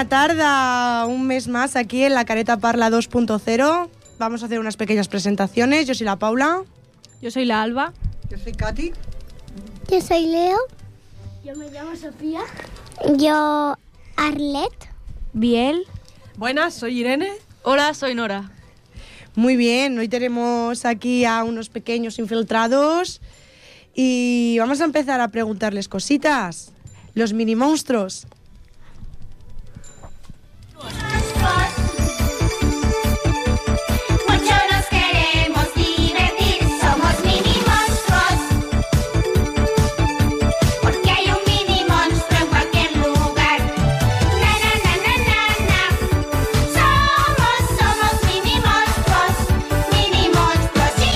tarda un mes más aquí en la Careta Parla 2.0. Vamos a hacer unas pequeñas presentaciones. Yo soy la Paula. Yo soy la Alba. Yo soy Katy. Yo soy Leo. Yo me llamo Sofía. Yo Arlet. Biel. Buenas, soy Irene. Hola, soy Nora. Muy bien, hoy tenemos aquí a unos pequeños infiltrados y vamos a empezar a preguntarles cositas. Los mini monstruos. Mucho nos queremos divertir, somos mini monstruos. Porque hay un mini monstruo en cualquier lugar. Na na na na na na. Somos mini monstruos, sí.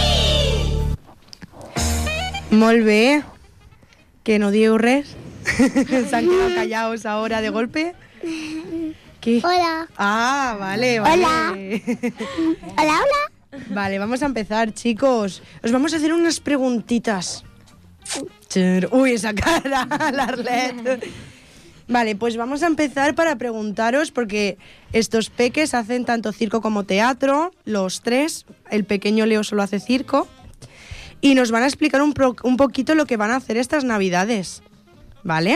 Molt bé. Que no dieu res. Se han quedado callados ahora de golpe. ¿Qué? Hola. Ah, vale. Hola. Hola. Vale, vamos a empezar, chicos. Os vamos a hacer unas preguntitas. Uy, esa cara, la Arlet. Vale, pues vamos a empezar para preguntaros, porque estos peques hacen tanto circo como teatro, los tres. El pequeño Leo solo hace circo. Y nos van a explicar un poquito lo que van a hacer estas Navidades. ¿Vale?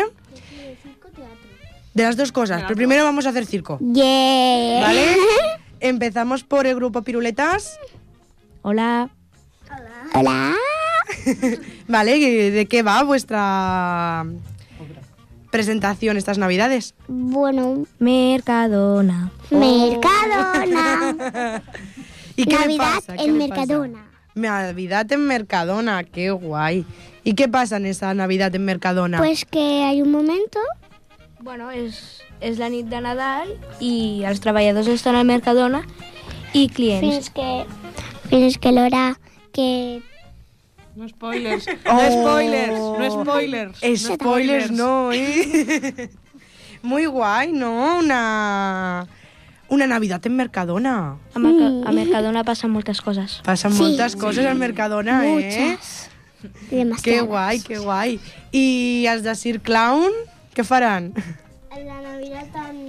De las dos cosas, pero primero vamos a hacer circo. Yeah. ¿Vale? Empezamos por el grupo Piruletas. Hola. Hola. ¿Vale? ¿De qué va vuestra presentación estas Navidades? Bueno, Mercadona. Mercadona. ¿Y qué Navidad le pasa? ¿Qué en le pasa? Mercadona. Navidad en Mercadona, qué guay. ¿Y qué pasa en esa Navidad en Mercadona? Pues que hay un momento. Bueno, és la nit de Nadal i els treballadors estan al Mercadona i clients. Fins que l'hora que... No spoilers, Oh. no spoilers, no spoilers. Spoilers no, ¿eh? Muy guay, ¿no? Una Navidad en Mercadona. A Mercadona passen moltes coses. Pasan muchas cosas al Mercadona, Muchas. Demasiadas. Qué guay, qué guay. ¿Y els de Cirque Clown? Què faran? La Navidad en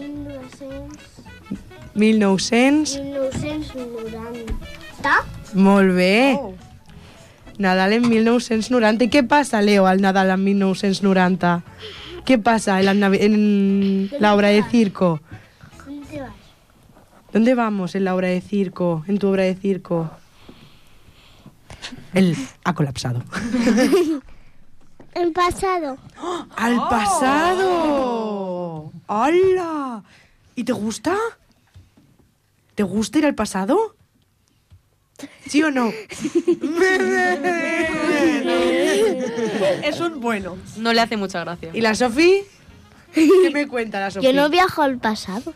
1990. Molt bé. Nadal en 1990. ¿Y qué pasa, Leo, al Nadal en 1990? ¿Qué pasa en la obra de circo? ¿Dónde vas? ¿Dónde vamos en la obra de circo? En tu obra de circo. Él ha colapsado. El pasado. ¡Al pasado! ¡Hala! ¿Y te gusta? ¿Te gusta ir al pasado? ¿Sí o no? Es un bueno. No le hace mucha gracia. ¿Y la Sofi? ¿Qué me cuenta la Sofi? Yo no viajo al pasado.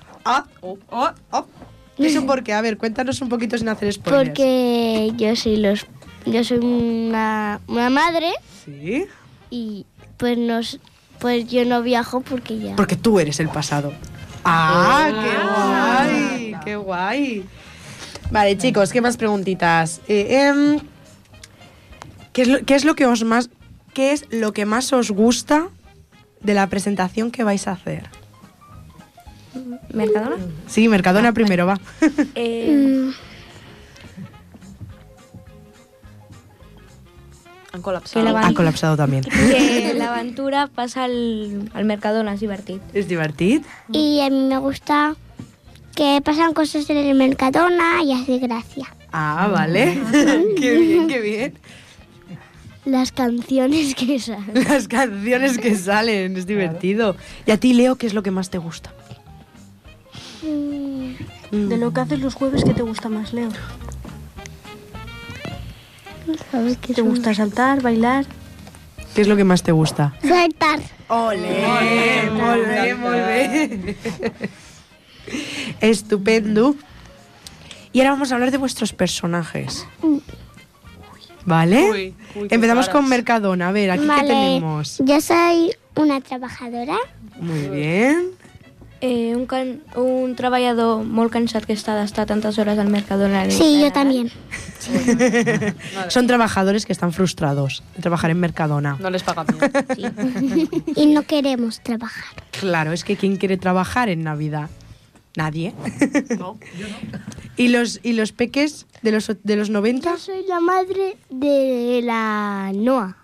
¿Eso por qué? A ver, cuéntanos un poquito sin hacer spoilers. Porque yo soy una madre ¿Sí? y pues yo no viajo porque ya. Porque tú eres el pasado. ¡Ah, qué guay! ¡Qué guay! Vale, chicos, ¿qué más preguntitas? ¿Qué es lo que más os gusta de la presentación que vais a hacer? Mercadona? Sí, Mercadona primero, va. Han col·lapsat. Ha colapsado también. Que l'aventura passa al Mercadona, és divertit. ¿Es divertit? Y a mí me gusta que pasan cosas en el Mercadona y hace gracia. Ah, vale. Qué bien, qué bien. Las canciones que salen. Las canciones que salen, es divertido. ¿Y a ti, Leo, qué es lo que más te gusta? De lo que haces los jueves, ¿qué te gusta más, Leo? ¿Sabes qué ¿Te gusta saltar, bailar? ¿Qué es lo que más te gusta? Saltar. ¡Olé! Molt bé, molt bé. Estupendo. Y ahora vamos a hablar de vuestros personajes. ¿Vale? Uy, qué Empezamos caras. con Mercadona. A ver, aquí qué tenemos. Yo soy una trabajadora Muy bien. un treballador molt cansat que està d'estar tantes hores al Mercadona. Sí, yo también. Son trabajadores que están frustrados de trabajar en Mercadona. No les pagan bien. Y no queremos trabajar. Claro, es que ¿quién quiere trabajar en Navidad? Nadie. No, yo no. ¿Y los peques de los 90? Yo soy la madre de la Noa,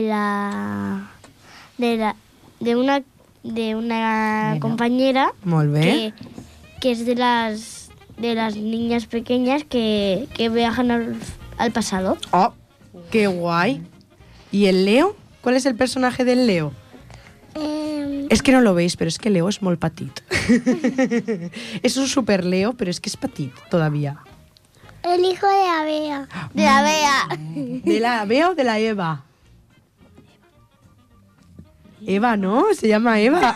de una compañera Molt bé. que es de las niñas pequeñas que viajan al pasado. Oh, qué guay. ¿Y el Leo? ¿Cuál es el personaje del Leo? Es que no lo veis, pero es que Leo es muy petit. Es un super Leo, pero es que es petit todavía. El hijo de Abea. De la Bea. ¿De la Bea o de la Eva? Eva, ¿no? Se llama Eva.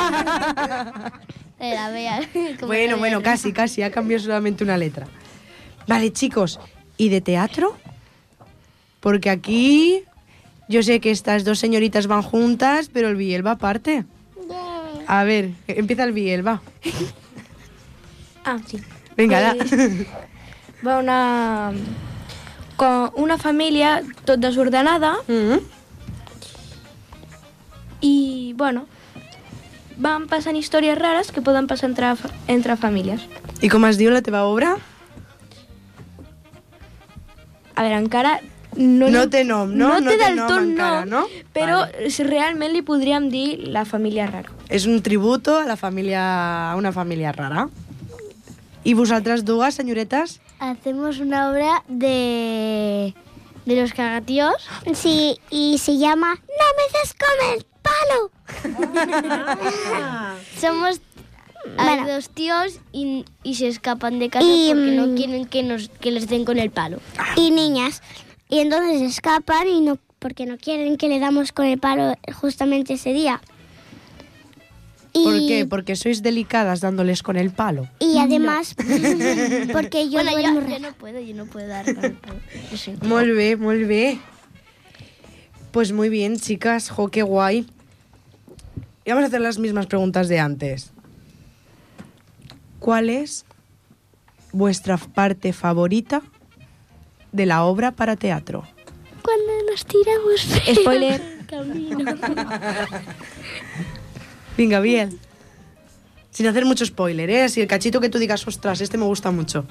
De la Bea. Bueno, casi. Ha cambiado solamente una letra. Vale, chicos. ¿Y de teatro? Porque aquí yo sé que estas dos señoritas van juntas, pero el Biel va aparte. A ver, empieza el Biel, va. Ah, sí. Venga, Va una família tot desordenada i, bueno, van passant històries rares que poden passar entre famílies. I com es diu la teva obra? A veure, encara... No té nom, no? No té del nom tot encara, nom, no? però Vale. realment li podríem dir la família rara. És un tributo a una família rara. I vosaltres dues, senyoretes? Hacemos una obra de los cagatíos. Sí, y se llama ¡No me des come el palo! Somos hay Bueno. dos tíos y se escapan de casa Y, porque no quieren que les den con el palo. Y niñas. Y entonces escapan y no porque no quieren que le damos con el palo justamente ese día. ¿Por qué? Porque sois delicadas dándoles con el palo. Y además, porque yo Bueno, duermo yo raro. no puedo dar con el palo. Lo siento. Molt bé, molt bé. Pues muy bien, chicas. Jo, qué guay. Y vamos a hacer las mismas preguntas de antes. ¿Cuál es vuestra parte favorita de la obra para teatro? Cuando nos tiramos. Spoiler. Venga, bien. Sin hacer mucho spoiler, ¿eh? Así el cachito que tú digas, ostras, este me gusta mucho.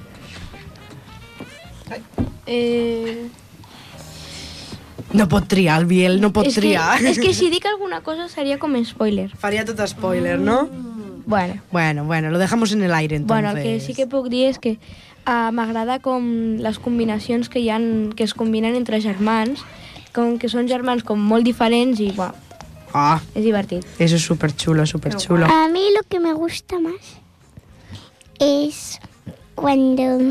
No pot triar, el Biel, no pot triar. És que si dic alguna cosa seria com spoiler. Faria tot spoiler, no? Bueno, Bueno, lo dejamos en el aire, entonces. bueno, el que sí que puc dir és que m'agrada com les combinacions que hi ha, que es combinen entre germans, com que són germans com molt diferents i, bueno, Ah, és divertit. eso es súper chulo, súper chulo. A mí lo que me gusta más es cuando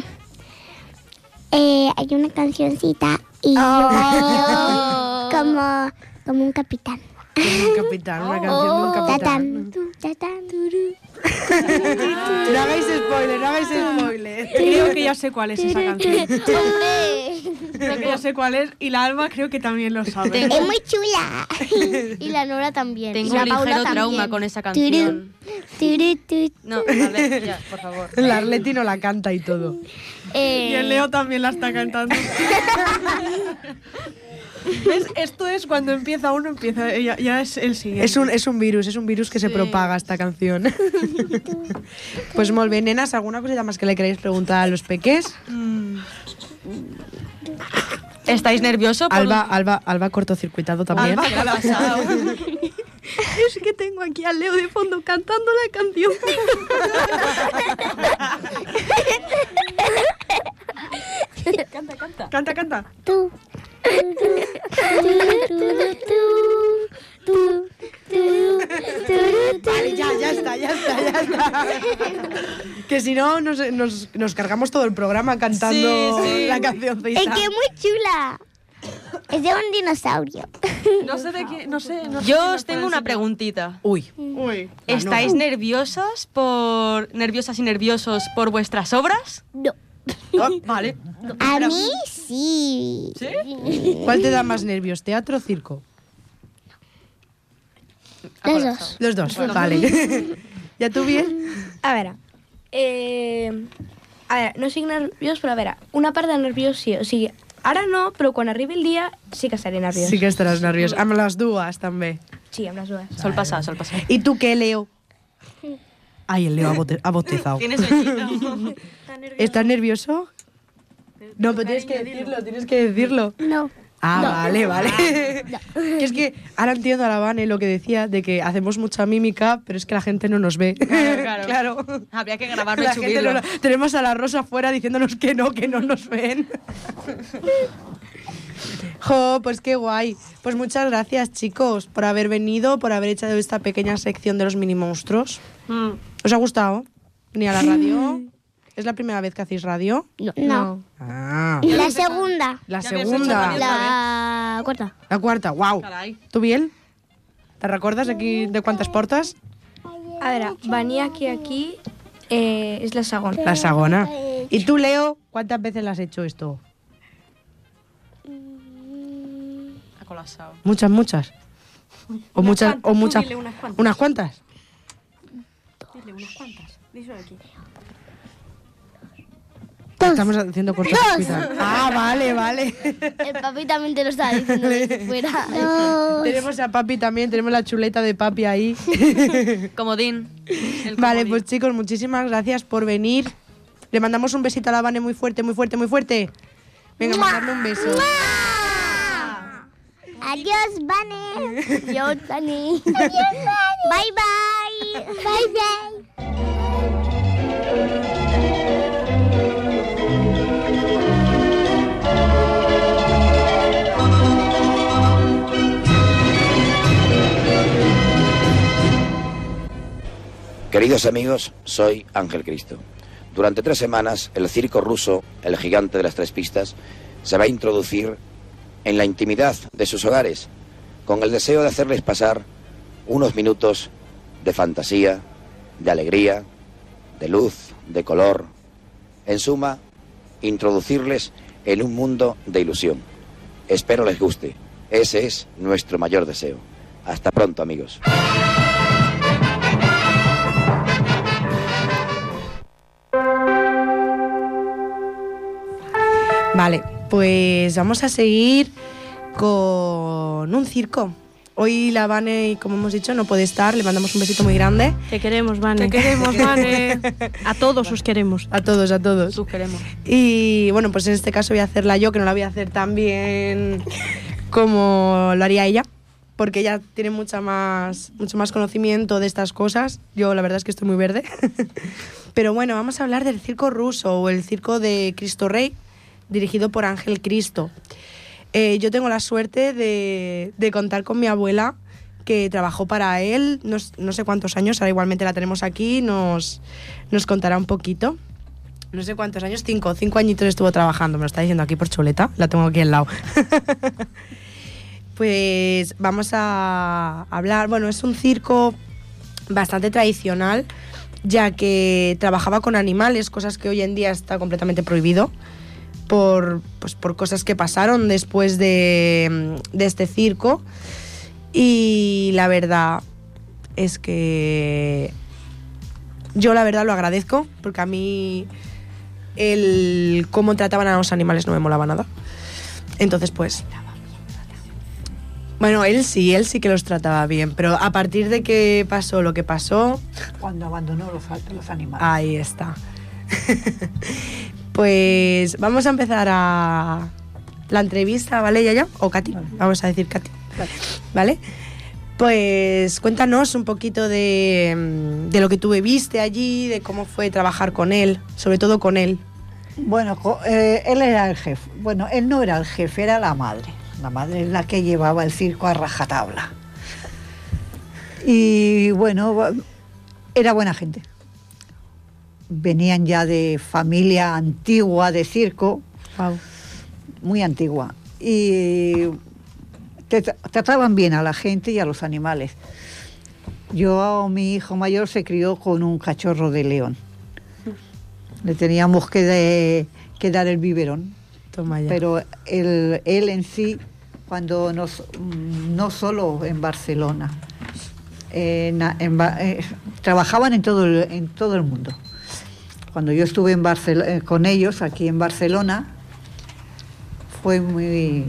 hay una cancioncita y yo bailo como un capitán. Un capitán, una canción de un capitán. Tatán, tatán, turú. No hagáis spoiler, no hagáis spoiler. Creo que ya sé cuál es esa canción. ¡Hombre! Creo que ya sé cuál es y la Alba creo que también lo sabe. Es muy chula. Y la Nora también. Tengo y la un Paula ligero también. trauma con esa canción. Turú, turú. No, a ver, ya, por favor. La Arleti no la canta y todo. Y el Leo también la está cantando. ¿Ves? Esto es cuando empieza uno, empieza ya es el siguiente. Es un virus que se propaga esta canción. Pues molt bé, nenas, ¿alguna cosita más que le queréis preguntar a los peques? ¿Estáis nerviosos? por- Alba cortocircuitado también. Alba, ¿qué le ha pasado? Es que tengo aquí al Leo de fondo cantando la canción. Canta, canta. Tú. Vale, ya está. Que si no, nos cargamos todo el programa cantando Sí, sí. la canción Es que es muy chula. Es de un dinosaurio. No sé de qué, no sé. Yo os tengo una preguntita. Uy, Uy. ¿Estáis nerviosas y nerviosos por vuestras obras? No. Vale. A mí sí. ¿cuál te da más nervios, teatro o circo? Los dos. Los dos, vale. Ja tu bien? A veure, no estic nerviós, però a veure, una part de nerviós sí, o sigui, ara no, però quan arribi el dia sí que estaré nerviós. Sí que estaràs nerviós. Amb les dues, també. Sí, amb les dues. Sol pasar, sol pasar. ¿Y tú qué, Leo? Ay, el Leo ha bostezado. Tienes sueñito. ¿Estás nervioso? No, pero tienes que decirlo. No. Ah, vale. Que es que ahora entiendo a la Vane lo que decía, de que hacemos mucha mímica, pero es que la gente no nos ve. Claro. Habría que grabarlo y La gente subirlo. tenemos a la Rosa afuera diciéndonos que no nos ven. Jo, pues qué guay. Pues muchas gracias, chicos, por haber venido, por haber hecho esta pequeña sección de los mini monstruos. ¿Os ha gustado? ¿Venir a la radio? ¿Es la primera vez que hacéis radio? No. Ah, La segunda. la Ya habías segunda. hecho La cuarta. La quarta, uau. Carai. Tu, Biel? Te recordes aquí de quantes portes? A veure, venir aquí és la segona. La segona. ¿Y tú, Leo, cuántas veces le has hecho esto? Ha colapsado. Muchas. O muchas. Dile unas cuantas. ¿Unas cuantas? Dile unas cuantas. Díselo aquí. Estamos haciendo cortocircuito. Ah, vale. El papi también te lo estaba diciendo desde fuera. Tenemos a papi también, tenemos la chuleta de papi ahí. Comodín. El Vale, comodín. pues chicos, muchísimas gracias por venir. Le mandamos un besito a la Vane muy fuerte. Venga, mandarle un beso. Adiós, Vane. Adiós, Dani. Bye, bye. Bye, bye. Queridos amigos, soy Ángel Cristo. Durante 3 semanas, el circo ruso, el gigante de las 3 pistas, se va a introducir en la intimidad de sus hogares, con el deseo de hacerles pasar unos minutos de fantasía, de alegría, de luz, de color. En suma, introducirles en un mundo de ilusión. Espero les guste. Ese es nuestro mayor deseo. Hasta pronto, amigos. Vale, pues vamos a seguir con un circo. Hoy la Vane, como hemos dicho, no puede estar. Le mandamos un besito muy grande. Te queremos, Vane. Te queremos, Vane. A todos os queremos. A todos. Sus queremos. Y bueno, pues en este caso voy a hacerla yo, que no la voy a hacer tan bien como lo haría ella, porque ella tiene mucho más conocimiento de estas cosas. Yo la verdad es que estoy muy verde. Pero bueno, vamos a hablar del circo ruso o el circo de Cristo Rey, dirigido por Ángel Cristo. Yo tengo la suerte de contar con mi abuela, que trabajó para él no sé cuántos años, ahora igualmente la tenemos aquí, nos contará un poquito. No sé cuántos años, 5 añitos estuvo trabajando, me lo está diciendo aquí por chuleta, la tengo aquí al lado. Pues vamos a hablar, bueno, es un circo bastante tradicional, ya que trabajaba con animales, cosas que hoy en día está completamente prohibido por cosas que pasaron después de este circo. Y la verdad es que yo la verdad lo agradezco, porque a mí el cómo trataban a los animales no me molaba nada. Entonces pues bueno, él sí que los trataba bien, pero a partir de que pasó lo que pasó... Cuando abandonó los animales. Ahí está. Pues vamos a empezar a la entrevista, ¿vale, Yaya? O Katy, vale. Vamos a decir Katy. ¿Vale? Pues cuéntanos un poquito de lo que tú viviste allí, de cómo fue trabajar con él, sobre todo con él. Bueno, él era el jefe. Bueno, él no era el jefe, era la madre. La madre es la que llevaba el circo a rajatabla. Y bueno, era buena gente. Venían ya de familia antigua de circo, Wow. muy antigua. Y trataban bien a la gente y a los animales. Mi hijo mayor se crió con un cachorro de león. Le teníamos que dar el biberón. Toma ya. Pero él en sí, cuando no solo en Barcelona, trabajaban en todo el mundo. Cuando yo estuve con ellos aquí en Barcelona, fue muy...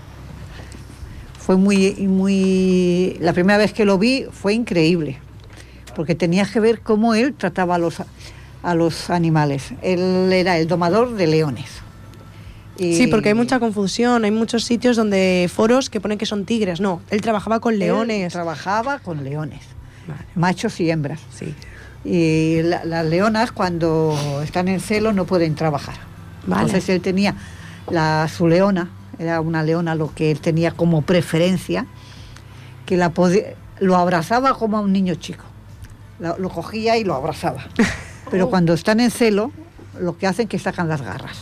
La primera vez que lo vi fue increíble, porque tenía que ver cómo él trataba a los animales. Él era el domador de leones. Sí, porque hay mucha confusión, hay muchos sitios donde foros que ponen que son tigres. No, él trabajaba con leones. Él trabajaba con leones, Vale. machos y hembras. Sí. Y las leonas, cuando están en celo, no pueden trabajar. Vale. Entonces él tenía su leona, era una leona lo que él tenía como preferencia, que lo abrazaba como a un niño chico. Lo cogía y lo abrazaba. Pero cuando están en celo, lo que hacen es que sacan las garras.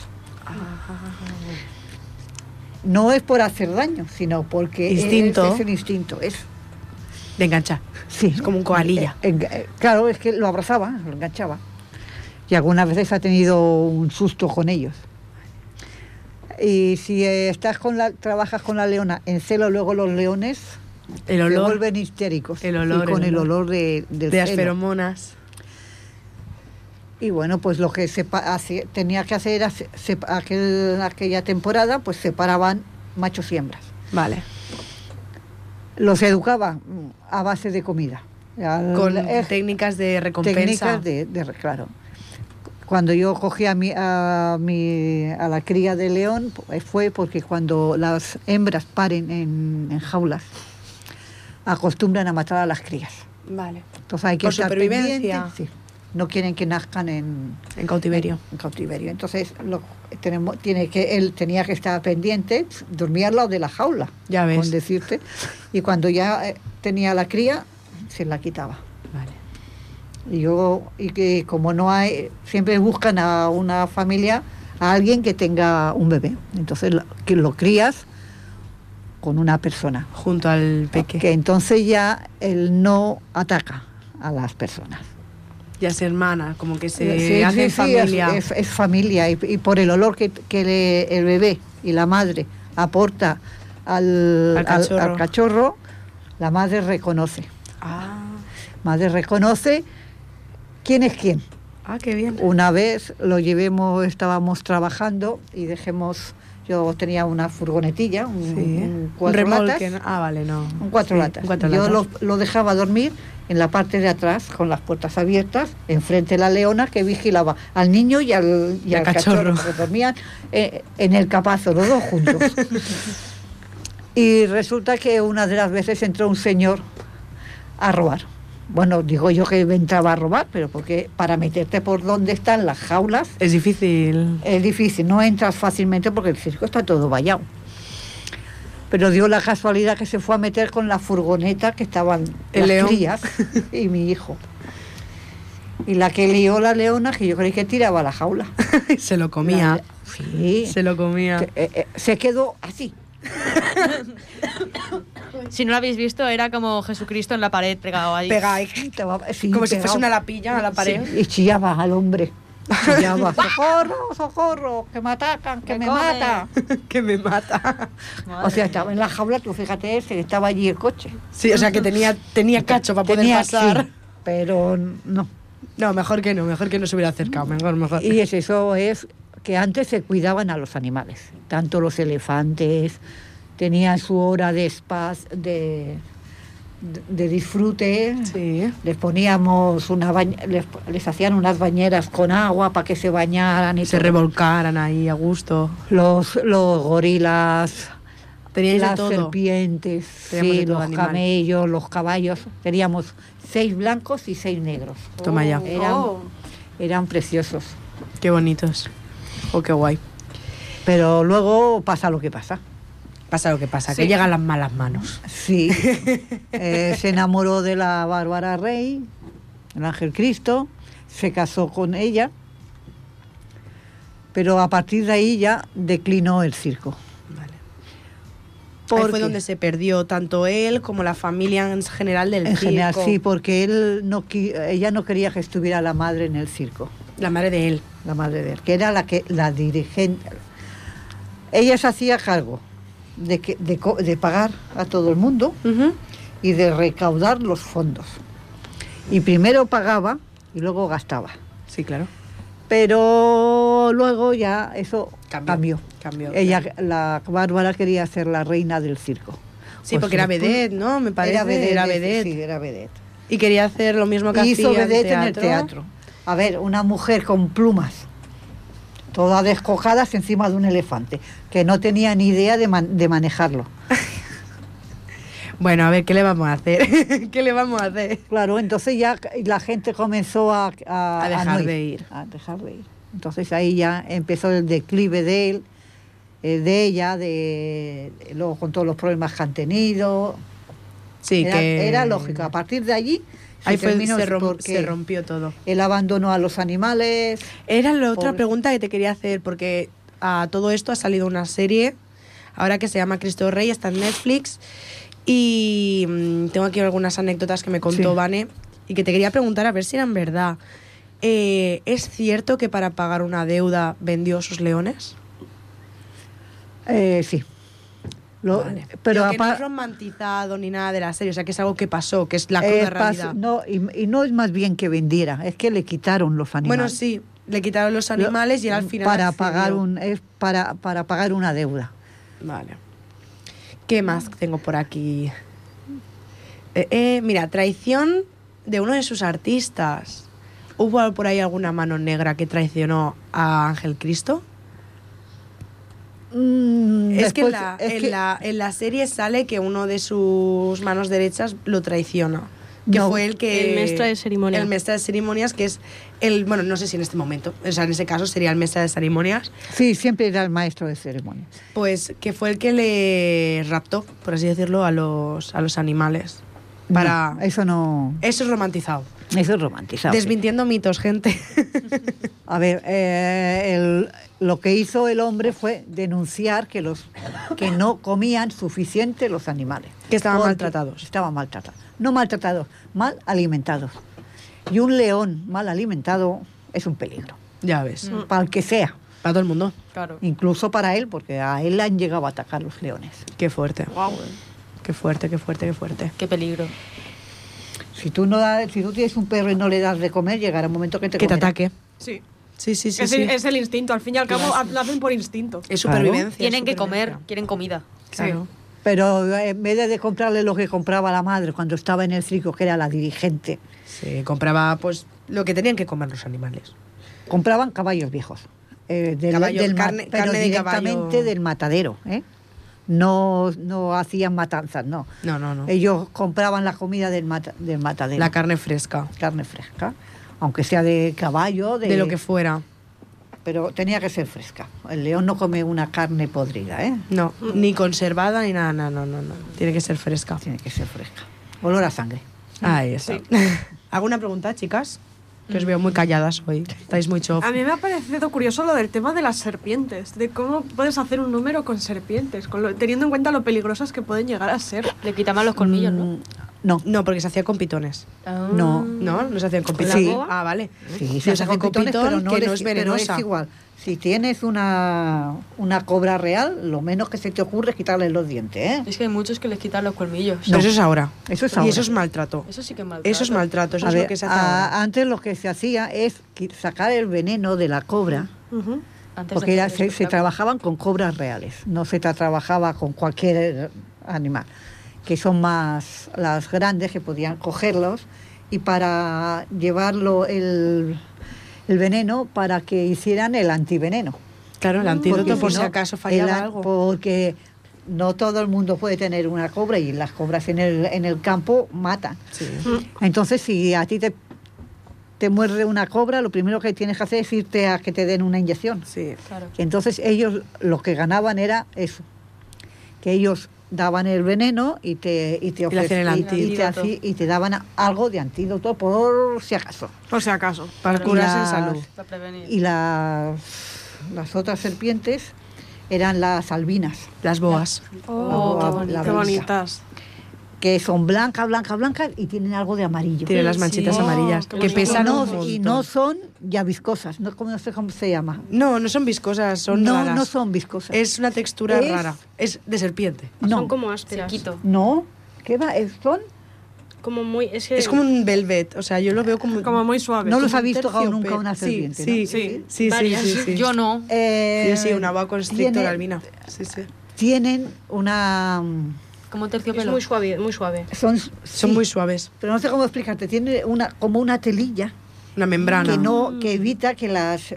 No es por hacer daño, sino porque Instinto. es el instinto. De enganchar. Sí. Es como un koalilla. Claro, es que lo abrazaba, lo enganchaba. Y algunas veces ha tenido un susto con ellos. Y si trabajas con la leona en celo, luego los leones El se olor. vuelven histéricos. El olor, y con el el olor. olor del De las celo. feromonas. Y bueno, pues lo que tenía que hacer era, aquella temporada, pues separaban machos y hembras. Vale. Los educaba a base de comida. Con técnicas de recompensa. Técnicas claro. Cuando yo cogí a la cría de león, fue porque cuando las hembras paren en jaulas, acostumbran a matar a las crías. Vale. Entonces hay que Por estar supervivencia. pendiente, sí. No quieren que nazcan en cautiverio. En cautiverio. Entonces él tenía que estar pendiente, dormía al lado de la jaula, Ya ves. con decirte, y cuando ya tenía la cría, se la quitaba. Vale. Y que como no hay, siempre buscan a una familia, a alguien que tenga un bebé. Entonces que lo crías con una persona. Junto al peque. Que entonces ya él no ataca a las personas. Ya se hermana, como que se Sí, hace sí, familia. es familia. Y por el olor que el bebé y la madre aporta al cachorro, la madre reconoce. Madre reconoce quién es quién. Ah, qué bien. Una vez estábamos trabajando y yo tenía una furgonetilla, un cuatro remolque, latas. ¿no? Vale, no. Un cuatro Sí, latas. un cuatro Yo latas. lo dejaba dormir en la parte de atrás, con las puertas abiertas, enfrente de la leona que vigilaba al niño y al cachorro, que dormían en el capazo, los dos juntos. Y resulta que una de las veces entró un señor a robar. Bueno, digo yo que entraba a robar, pero porque para meterte por donde están las jaulas... Es difícil. Es difícil, no entras fácilmente porque el circo está todo vallado. Pero dio la casualidad que se fue a meter con la furgoneta que estaban El las león. crías y mi hijo. Y la que lió la leona, que yo creí que tiraba la jaula. Se lo comía. Sí. Se lo comía. Se quedó así. Si no lo habéis visto, era como Jesucristo en la pared pegado ahí. Sí, Como si pegado. fuese una lapilla a la pared. Sí, y chillaba al hombre. Chillaba, socorro, socorro, que me atacan, que me mata. Que me mata. O sea, estaba en la jaula, tú fíjate ese, que estaba allí el coche. Sí, o sea que tenía cacho para poder Tenía, pasar. sí, pero no. No, mejor que no se hubiera acercado, mejor. Y eso es que antes se cuidaban a los animales, tanto los elefantes, tenían su hora de disfrute, sí. Les poníamos les hacían unas bañeras con agua para que se bañaran y se todo. revolcaran ahí a gusto. Los gorilas, Teníais de las todo. serpientes, Teníamos sí, de todo los animal. camellos, los caballos. Teníamos 6 blancos y 6 negros. Toma ya. Eran preciosos. Qué bonitos. Oh, qué guay. Pero luego pasa lo que pasa. Pasa lo que pasa, Sí. que llegan las malas manos. Sí. Se enamoró de la Bárbara Rey, el Ángel Cristo, se casó con ella, pero a partir de ahí ya declinó el circo. Vale. Ahí Porque- fue donde se perdió tanto él como la familia en general del En circo. general, sí, porque ella no quería que estuviera la madre en el circo, La madre de él. la madre de él, que era la dirigente. Ella se hacía cargo de pagar a todo el mundo Ujú. y de recaudar los fondos. Y primero pagaba y luego gastaba. Sí, claro. Pero luego ya eso cambió. Ella, claro. la Bárbara, quería ser la reina del circo. Sí, Por porque era supuesto. vedette, ¿no? Me parece. Era vedette, vedette. Sí, era vedette. Y quería hacer lo mismo que Hizo hacía vedette en el teatro. A ver, una mujer con plumas, todas descojadas encima de un elefante, que no tenía ni idea de manejarlo. Bueno, a ver, ¿qué le vamos a hacer? ¿Qué le vamos a hacer? Claro, entonces ya la gente comenzó a dejar no de ir. A dejar de ir. Entonces ahí ya empezó el declive de él, de ella, luego con todos los problemas que han tenido. Sí, Era lógico. A partir de allí ahí terminó se rompió todo. Él abandonó a los animales. Era la otra Pobre. pregunta que te quería hacer, porque a todo esto ha salido una serie, ahora que se llama Cristo Rey, está en Netflix, y tengo aquí algunas anécdotas que me contó Sí. Vane, y que te quería preguntar a ver si eran verdad. ¿Es cierto que para pagar una deuda vendió sus leones? Sí. Vale. Pero que no es romantizado ni nada de la serie, o sea que es algo que pasó, que es la cruda realidad. No, y no es más bien que vendiera, es que le quitaron los animales. Bueno, sí, le quitaron los animales y él al final para accedió. pagar para pagar una deuda. Vale. ¿Qué más tengo por aquí? Mira, traición de uno de sus artistas. ¿Hubo por ahí alguna mano negra que traicionó a Ángel Cristo? Es que, en la serie sale que uno de sus manos derechas lo traiciona. Que No, fue el mestre de ceremonias. El mestre de ceremonias, que es el... Bueno, no sé si en este momento, o sea, en ese caso sería el mestre de ceremonias. Sí, siempre era el maestro de ceremonias. Pues que fue el que le raptó, por así decirlo, a los animales. Para... No, eso no... Eso es romantizado. Eso es romantizado. Desmintiendo mitos, gente. A ver, lo que hizo el hombre fue denunciar que no comían suficiente los animales. Que estaban Porque maltratados. Estaban maltratados. No maltratados, mal alimentados. Y un león mal alimentado es un peligro. Ya ves. Para el que sea. Para todo el mundo. Claro. Incluso para él, porque a él le han llegado a atacar los leones. Qué fuerte. Wow. Qué fuerte, qué fuerte, qué fuerte. Qué peligro. Si tú tienes un perro y no le das de comer, llegará un momento que te Que te comerá. ataque. Sí. Sí, sí, sí. Es, sí. es el instinto, al fin y al cabo lo hacen por instinto. Es supervivencia. Tienen que comer, supervivencia. quieren comida. Claro. Pero en vez de comprarle lo que compraba la madre cuando estaba en el circo, que era la dirigente, Sí, compraba pues lo que tenían que comer los animales. compraban caballos viejos. Caballo, pero carne de directamente caballo. del matadero. No hacían matanzas, no. No, no, no. Ellos compraban la comida del matadero. La carne fresca. Carne fresca. Aunque sea de caballo, De lo que fuera. pero tenía que ser fresca. El león no come una carne podrida, ¿eh? No, ni conservada ni nada, no. Tiene que ser fresca. Tiene que ser fresca. Olor a sangre. Ahí está. ¿Alguna pregunta, chicas? Que os veo muy calladas hoy. Estáis muy chof. A mí me ha parecido curioso lo del tema de las serpientes, de cómo puedes hacer un número con serpientes, teniendo en cuenta lo peligrosas que pueden llegar a ser. Le quitaban los colmillos, ¿no? No. No, porque se hacía con pitones. No. ¿No? No se hacían con ¿Con pitones. la boa? Ah, vale. Sí, Se hace con pitones, pitón, pero que no es venenosa. Pero es igual. Si tienes una cobra real, lo menos que se te ocurre es quitarle los dientes, ¿eh? Es que hay muchos que les quitan los colmillos. Pero eso es ahora. Eso es Y ahora. eso es maltrato. Eso sí que es maltrato. Eso es maltrato, eso A es ver, lo que se hace ahora. antes lo que se hacía es sacar el veneno de la cobra, Ujú. Antes porque de hacer se espectáculo. trabajaban con cobras reales, no se trabajaba con cualquier animal, que son más las grandes que podían cogerlos y para llevarlo el veneno para que hicieran el antiveneno. Claro, el antídoto Porque por si si no, acaso fallaba algo. Porque no todo el mundo puede tener una cobra y las cobras en el campo matan. Sí. Entonces, si a ti te muerde una cobra, lo primero que tienes que hacer es irte a que te den una inyección. Sí. Claro. Entonces, ellos lo que ganaban era eso, que ellos daban el veneno y te le hacían el antídoto. y te daban algo de antídoto por si acaso. Por si acaso. Para Y curarse en las- salud. Para prevenir. Y las otras serpientes eran las albinas, Las boas. Oh, qué la bonito. Qué brisa, bonitas. que son blancas y tienen algo de amarillo. Tiene las manchitas Sí. amarillas. qué Que bonito. pesan un Y montón. no son ya viscosas, no sé cómo se llama. No, no son viscosas, son raras. No son viscosas. Es una textura Es- rara. Es de serpiente. no, Son como ásperas. Sequito. no, ¿qué va? Son como muy... Es como un velvet, o sea, yo lo veo como muy suave. ¿No los como habéis un tocado terciopelo. nunca una serpiente? Sí, ¿no? sí. Varias. Sí. Yo no. Sí, una boa constrictor tiene- albina. Sí. Tienen una... Como un Es terciopelo. muy suave, muy suave. Son sí, muy suaves. pero no sé cómo explicarte. Tiene como una telilla Una membrana. que evita que las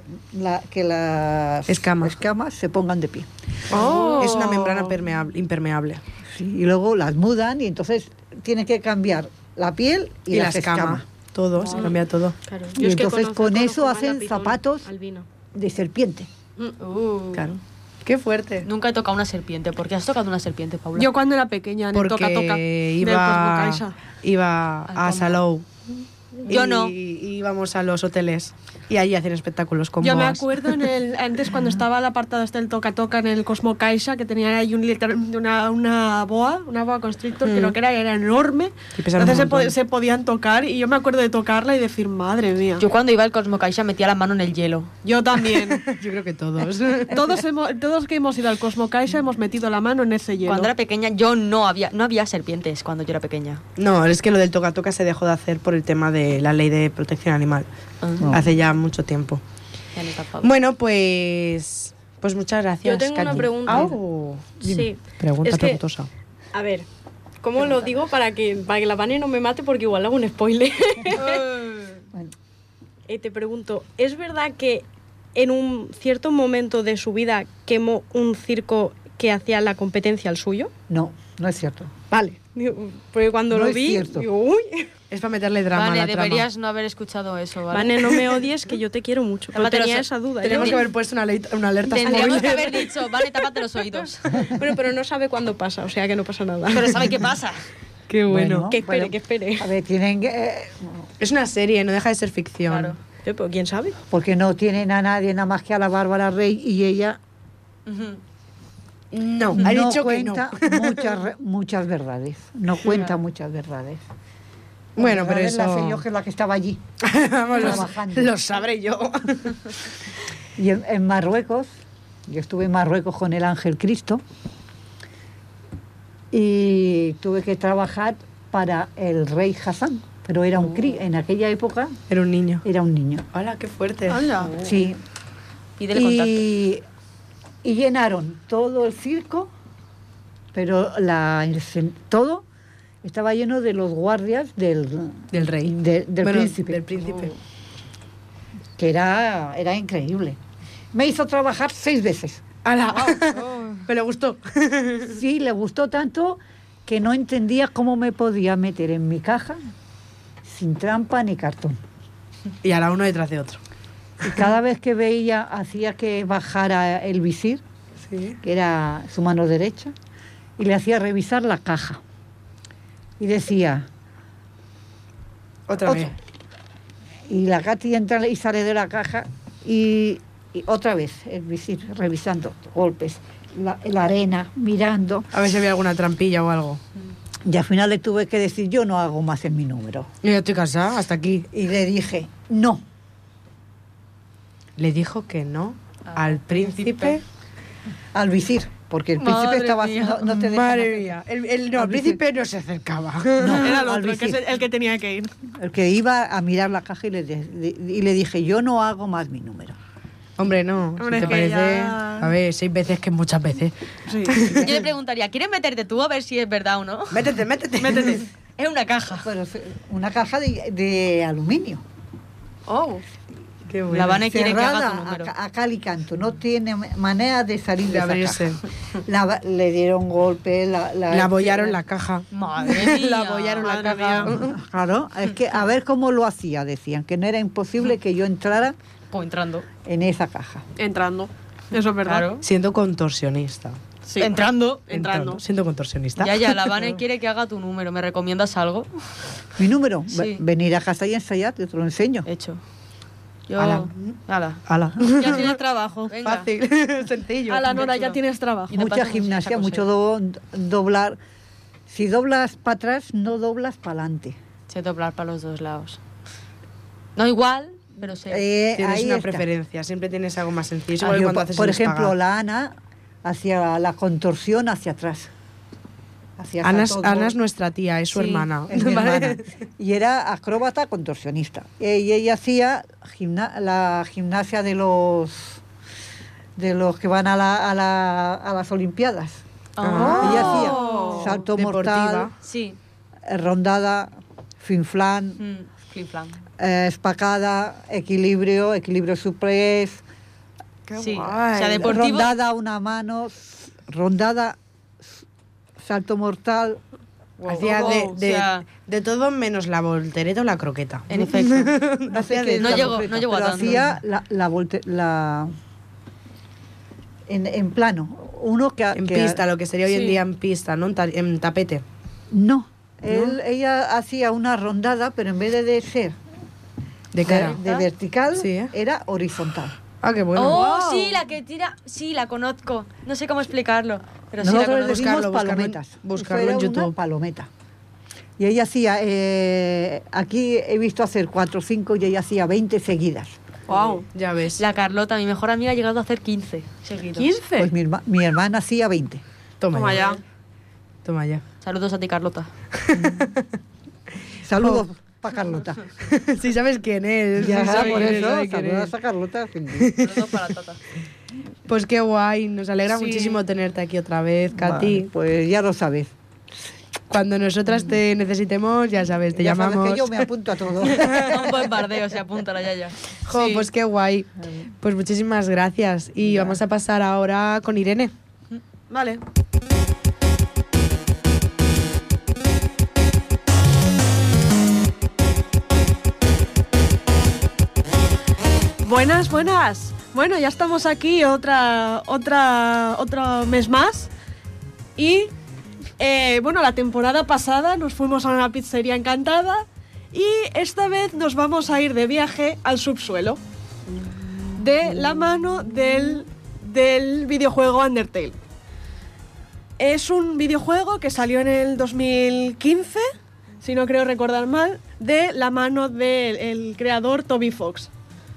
escamas se pongan de pie. Es una membrana impermeable. Sí, y luego las mudan y entonces tienen que cambiar la piel y, la las escama. escamas. Todo, se cambia todo. Claro. Y entonces con eso hacen zapatos albino. de serpiente. Claro. Qué fuerte. Nunca he tocado una serpiente. ¿Por qué has tocado una serpiente, Paula? Yo cuando era pequeña, en el Porque toca-toca del Cosmo Caixa. iba a Salou. Yo no. Y íbamos a los hoteles y allí hacen espectáculos con Yo me boas. acuerdo antes cuando estaba el apartado este del toca-toca en el Cosmo Caixa, que tenía ahí una boa constrictor, creo que era enorme. Y pesaba Entonces un montón. se podían tocar y yo me acuerdo de tocarla y decir, madre mía. Yo cuando iba al Cosmo Caixa metía la mano en el hielo. Yo también. Yo creo que todos. Todos que hemos ido al Cosmo Caixa hemos metido la mano en ese hielo. Cuando era pequeña yo no había serpientes cuando yo era pequeña. No, es que lo del toca-toca se dejó de hacer por el tema de la ley de protección animal. Hace ya mucho tiempo. Ya no está a favor. Bueno, pues muchas gracias. Yo tengo una Katy. pregunta. Au. Sí. Pregunta Es que- preguntosa. A ver, ¿cómo lo digo para que la Vane no me mate? Porque igual hago un spoiler. Bueno, Te pregunto, ¿es verdad que en un cierto momento de su vida quemó un circo que hacía la competencia al suyo? no es cierto. Vale. Porque cuando No lo es vi, cierto. digo, uy. Es para meterle drama a Vale, la trama. deberías no haber escuchado eso, ¿vale? Vane, no me odies, que yo te quiero mucho. Pero Tápate tenía los- esa duda. Tenemos yo- que haber puesto una alerta Tendríamos que spoiler. haber dicho, vale, tápate los oídos. Bueno, pero no sabe cuándo pasa, o sea que no pasa nada. Pero ¿sabe qué pasa? Qué bueno. Que espere. A ver, tienen que... Es una serie, no deja de ser ficción. Claro. Pero ¿quién sabe? porque no tienen a nadie nada más que a la Bárbara Rey y ella Ujú. No, ha no dicho que no. cuenta muchas verdades. No cuenta muchas verdades. Bueno, pero Verdades eso... las sé yo, que es la que estaba allí. Vamos, trabajando. lo sabré yo. Y en Marruecos, yo estuve en Marruecos con el Ángel Cristo y tuve que trabajar para el rey Hassan, pero era en aquella época Era un niño. era un niño. Hola, qué fuerte. Sí. Pídele contacto. Y llenaron todo el circo, pero todo estaba lleno de los guardias del Del rey. del Bueno, príncipe. Del príncipe. Que era increíble. Me hizo trabajar 6 veces. ¡Hala! Me le gustó. Sí, le gustó tanto que no entendía cómo me podía meter en mi caja sin trampa ni cartón. Y ahora uno detrás de otro. Y cada vez que veía, hacía que bajara el visir, Sí. que era su mano derecha, y le hacía revisar la caja. Y decía, Otra vez. y la Katy entra y sale de la caja y otra vez el visir, revisando golpes, la arena, mirando. A ver si había alguna trampilla o algo. Y al final le tuve que decir, yo no hago más en mi número. Yo ya estoy casada, hasta aquí. Y le dije, no. Le dijo que no al príncipe. Al visir, porque el príncipe Madre estaba mía. haciendo... No te dejan Madre hacer- mía. El príncipe no se acercaba. No, Era el al otro, que es visir. el que tenía que ir. El que iba a mirar la caja y le dije, yo no hago más mi número. Hombre, no. Hombre, si es te que parece. ya- A ver, 6 veces que muchas veces. Sí. Yo le preguntaría, ¿quieres meterte tú a ver si es verdad o no? Métete. Es una caja. Pero es una caja de aluminio. Oh. Qué bueno. La Vane quiere que haga tu Cerrada número. a cal y canto. No tiene manera de salir de De esa abrirse. caja. Le dieron golpes. La abollaron la caja. Madre mía. La abollaron la Madre caja. Claro, es que a ver cómo lo hacía, decían, que no era imposible que yo entrara Como entrando. en esa caja. Entrando. Eso es verdad. Claro. Siendo contorsionista. Sí. Entrando. Siendo contorsionista. Ya, la Vane quiere que haga tu número. ¿Me recomiendas algo? Mi número, Sí. venir a casa y ensayar, te lo enseño. Hecho. Yo... Ala. Ala. Ala. Ya tienes trabajo. Venga. Fácil. Sencillo. A la Nora ya tienes trabajo. Y de Mucha paso, gimnasia, saco mucho doblar. Si doblas para atrás, no doblas para adelante. Sé doblar para los dos lados. No igual, pero sé. Tienes ahí una está. preferencia. Siempre tienes algo más sencillo. Es Ah, igual que yo, cuando haces por un ejemplo, espagat. la Ana hacía la contorsión hacia atrás. Hacía Ana saltos es nuestra tía, es su Sí, hermana. es mi ¿vale? hermana. Y era acróbata contorsionista. Y ella hacía la gimnasia de los que van a las Olimpiadas. Ah. Ella hacía salto Deportiva. mortal, Sí. rondada, finflán, Flip-flam. espacada, equilibrio suplex, Sí. guay. O sea, deportivo. rondada una mano, rondada, salto mortal. Hacía Wow, o sea- de todo menos la voltereta o la croqueta. En efecto. No sé qué es No la llegó- voltereta, no llegó a pero tanto. hacía en plano. Uno que En pista, lo que sería hoy en Sí. día en pista, ¿no? En tapete. No, ella hacía una rondada, pero en vez de ser De cara. de vertical, Sí, ¿eh? era horizontal. Ah, qué bueno. Oh, sí, la que tira. Sí, la conozco. No sé cómo explicarlo. Pero sí la Nosotros le conozco. decimos Buscarlo, palometas. buscarlo Eso en era una YouTube. palometa. Y ella hacía, aquí he visto hacer 4 o 5 y ella hacía 20 seguidas. Wow, ya ves. La Carlota, mi mejor amiga, ha llegado a hacer 15 seguidos. ¿15? Pues mi hermana hacía 20. Toma, Toma ya. ya. Toma ya. Saludos a ti, Carlota. Saludos para Carlota. Sí sabes quién es. Ya, sí sabes por quién es, eso, sabe quién saludos es. a Carlota. Saludos para Tata. Pues qué guay, nos alegra Sí. muchísimo tenerte aquí otra vez, Katy. Vale, pues ya lo sabes. Cuando nosotras te necesitemos, ya sabes, te Ya sabes llamamos. que yo me apunto a todo. Un bombardeo, se apunta la Yaya. Jo, pues qué guay. Pues muchísimas gracias. Y vamos a pasar ahora con Irene. Vale. Buenas, buenas. Bueno, ya estamos aquí otro mes más. Y bueno, la temporada pasada nos fuimos a una pizzería encantada y esta vez nos vamos a ir de viaje al subsuelo de la mano del videojuego Undertale. Es un videojuego que salió en el 2015, si no creo recordar mal, de la mano del creador Toby Fox.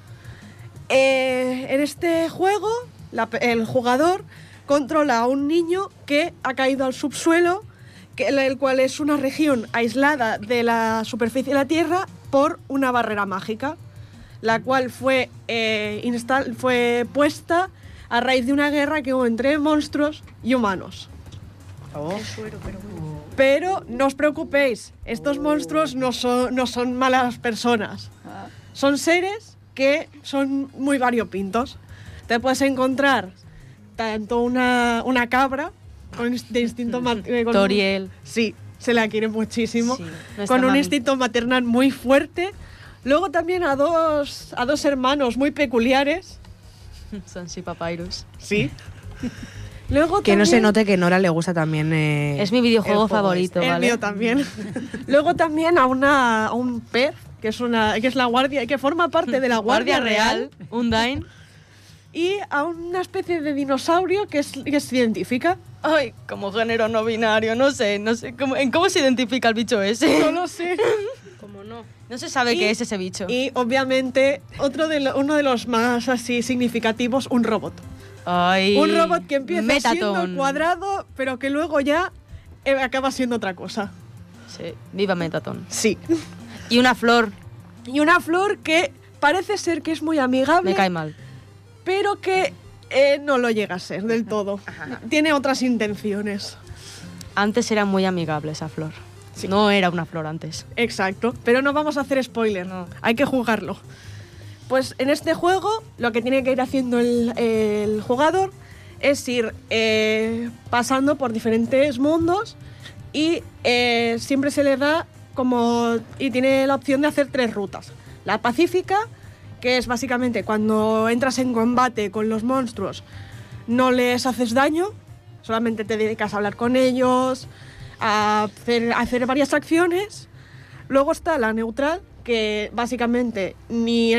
En este juego, el jugador controla a un niño que ha caído al subsuelo, el cual es una región aislada de la superficie de la Tierra por una barrera mágica, la cual fue puesta a raíz de una guerra que hubo entre monstruos y humanos. Pero no os preocupéis, estos monstruos no son malas personas. Son seres que son muy variopintos. Te puedes encontrar tanto una cabra de instinto maternal. Toriel. Sí, se la quiere muchísimo. Sí, nuestra con un mami. instinto maternal muy fuerte. Luego también a dos hermanos muy peculiares. Sansi Papyrus. Sí. Luego Que no se también- note que Nora le gusta también. Es mi videojuego el juego favorito, El ¿vale? mío también. Luego también a un pez, que es la guardia, que forma parte de la Guardia Real. Undyne. Y a una especie de dinosaurio que es científica. Ay, como género no binario, no sé ¿cómo se identifica el bicho ese? No lo sé. No se sabe Y- qué es ese bicho. Y obviamente uno de los más así significativos, un robot. Ay, Un robot que empieza siendo Metaton. cuadrado, pero que luego ya acaba siendo otra cosa. Sí, viva Metaton. Sí. Y una flor, Y una flor que parece ser que es muy amigable, me cae mal. pero que no lo llega a ser del todo. Tiene otras intenciones. Antes era muy amigable esa flor. No era una flor antes. Exacto, pero no vamos a hacer spoiler, No. hay que jugarlo. Pues en este juego lo que tiene que ir haciendo el jugador es ir pasando por diferentes mundos y siempre se le da y tiene la opción de hacer 3 rutas. La pacífica, que es básicamente cuando entras en combate con los monstruos, no les haces daño, solamente te dedicas a hablar con ellos, a hacer varias acciones. Luego está la neutral, que básicamente ni